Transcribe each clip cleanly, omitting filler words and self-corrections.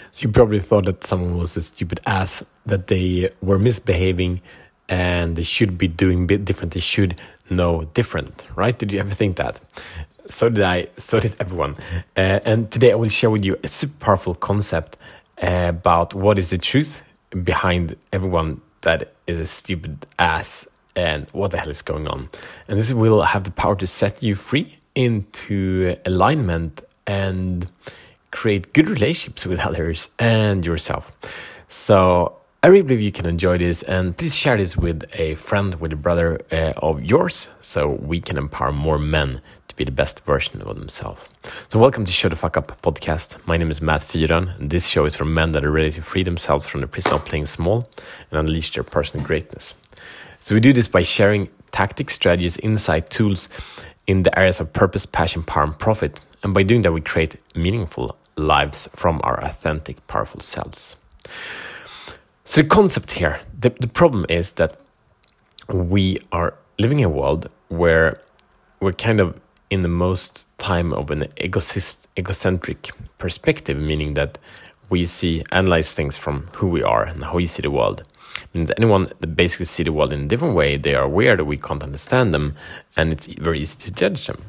So you probably thought that someone was a stupid ass, that they were misbehaving and they should be doing a bit different. They should know different, right? Did you ever think that? So did I, so did everyone. And today I will share with you a super powerful concept about what is the truth behind everyone that is a stupid ass and what the hell is going on. And this will have the power to set you free into alignment and create good relationships with others and yourself. So I really believe you can enjoy this, and please share this with a friend, with a brother of yours, so we can empower more men to be the best version of themselves. So welcome to Show the Fuck Up podcast. My name is Matt Fyron, and this show is for men that are ready to free themselves from the prison of playing small and unleash their personal greatness. So we do this by sharing tactics, strategies, insight, tools in the areas of purpose, passion, power, and profit. And by doing that, we create meaningful lives from our authentic, powerful selves. So the concept here, the problem is that we are living in a world where we're kind of in the most time of an egocentric perspective, meaning that we analyze things from who we are and how we see the world. And anyone that basically see the world in a different way, they are aware that we can't understand them, and it's very easy to judge them.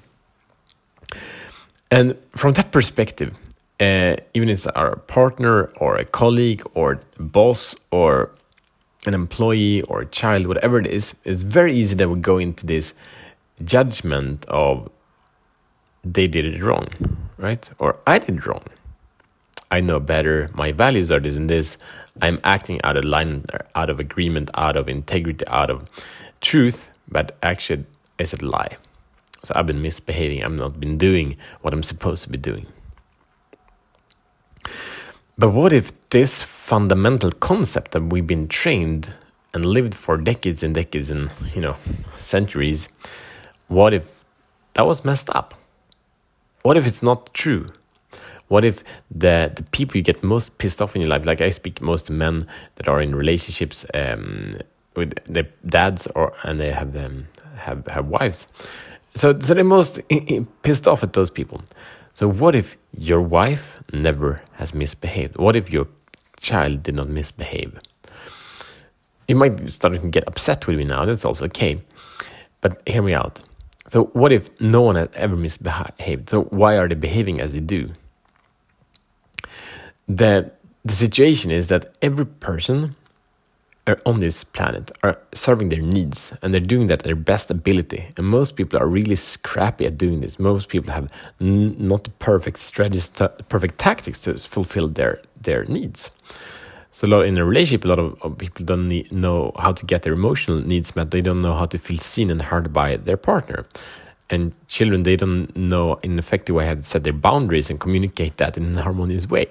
And from that perspective, even if it's our partner or a colleague or a boss or an employee or a child, whatever it is, it's very easy that we go into this judgment of they did it wrong, right? Or I did it wrong. I know better. My values are this and this. I'm acting out of line, out of agreement, out of integrity, out of truth, but actually it's a lie. So I've been misbehaving. I've not been doing what I'm supposed to be doing. But what if this fundamental concept that we've been trained and lived for decades and decades and, centuries, what if that was messed up? What if it's not true? What if the people you get most pissed off in your life, like I speak most to men that are in relationships with their dads and they have wives. So they're most pissed off at those people. So what if your wife never has misbehaved? What if your child did not misbehave? You might start to get upset with me now. That's also okay. But hear me out. So what if no one has ever misbehaved? So why are they behaving as they do? The situation is that every person on this planet are serving their needs, and they're doing that at their best ability. And most people are really scrappy at doing this. Most people have not the perfect strategies, perfect tactics to fulfill their needs. So in a relationship, a lot of people don't know how to get their emotional needs met. They don't know how to feel seen and heard by their partner. And children, they don't know in an effective way how to set their boundaries and communicate that in a harmonious way.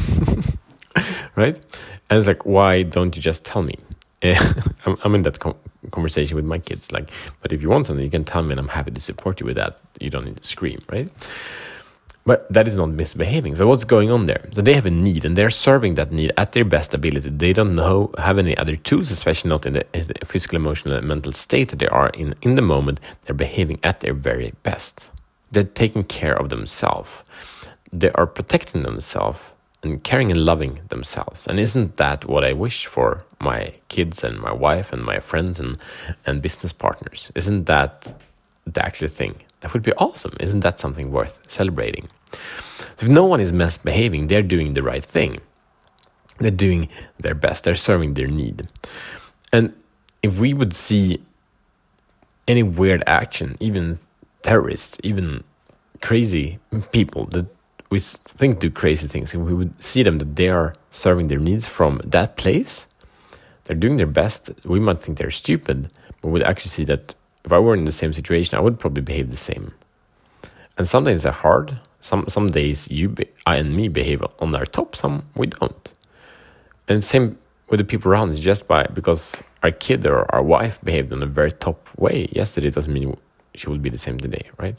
Right? And it's like, why don't you just tell me? I'm in that conversation with my kids. Like, but if you want something, you can tell me, and I'm happy to support you with that. You don't need to scream, right? But that is not misbehaving. So what's going on there? So they have a need, and they're serving that need at their best ability. They don't have any other tools, especially not in the physical, emotional, and mental state that they are in the moment. They're behaving at their very best. They're taking care of themselves. They are protecting themselves and caring and loving themselves. And isn't that what I wish for my kids and my wife and my friends and business partners? Isn't that the actual thing? That would be awesome. Isn't that something worth celebrating? So if no one is misbehaving, they're doing the right thing. They're doing their best. They're serving their need. And if we would see any weird action, even terrorists, even crazy people that we think do crazy things, and we would see them that they are serving their needs from that place, they're doing their best. We might think they're stupid, but we'd actually see that if I were in the same situation, I would probably behave the same. And some days are hard. Some days I and me behave on our top, some we don't. And same with the people around us. Just because our kid or our wife behaved in a very top way yesterday doesn't mean she will be the same today, right?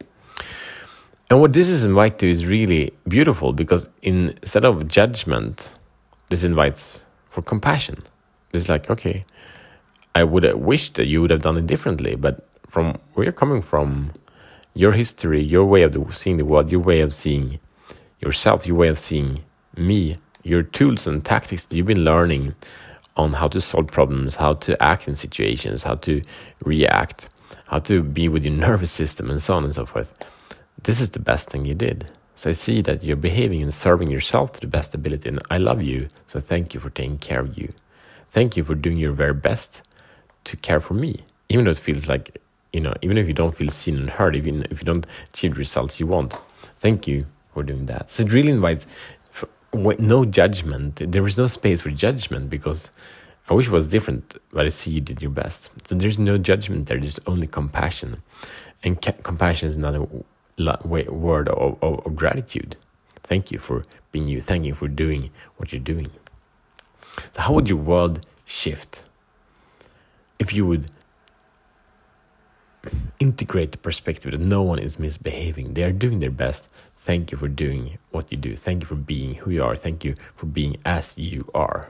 And what this is invited to is really beautiful, because instead of judgment, this invites for compassion. It's like, okay, I would have wished that you would have done it differently, but from where you're coming from, your history, your way of seeing the world, your way of seeing yourself, your way of seeing me, your tools and tactics that you've been learning on how to solve problems, how to act in situations, how to react, how to be with your nervous system, and so on and so forth. This is the best thing you did. So I see that you're behaving and serving yourself to the best ability, and I love you, so thank you for taking care of you. Thank you for doing your very best to care for me, even though it feels like, even if you don't feel seen and heard, even if you don't achieve the results you want. Thank you for doing that. So it really invites no judgment. There is no space for judgment, because I wish it was different, but I see you did your best. So there's no judgment there, there's only compassion. And compassion is another word of gratitude. Thank you for being you. Thank you for doing what you're doing. So how would your world shift if you would integrate the perspective that no one is misbehaving? They are doing their best. Thank you for doing what you do. Thank you for being who you are. Thank you for being as you are.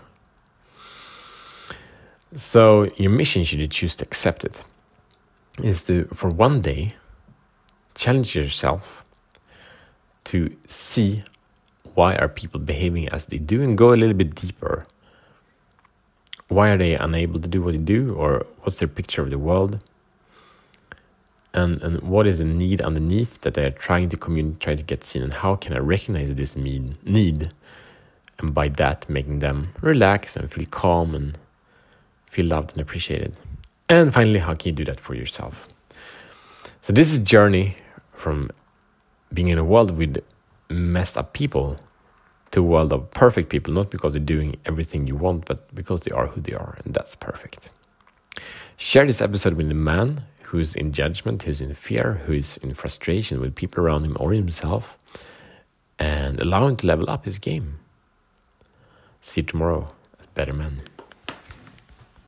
So your mission, should you choose to accept it, is to, for one day, challenge yourself to see why are people behaving as they do, and go a little bit deeper. Why are they unable to do what they do, or what's their picture of the world? And what is the need underneath that they are trying to communicate, trying to get seen, and how can I recognize this need, and by that making them relax and feel calm and feel loved and appreciated. And finally, how can you do that for yourself? So this is a journey from being in a world with messed up people to a world of perfect people, not because they're doing everything you want, but because they are who they are, and that's perfect. Share this episode with a man who's in judgment, who's in fear, who's in frustration with people around him or himself, and allow him to level up his game. See you tomorrow as better men.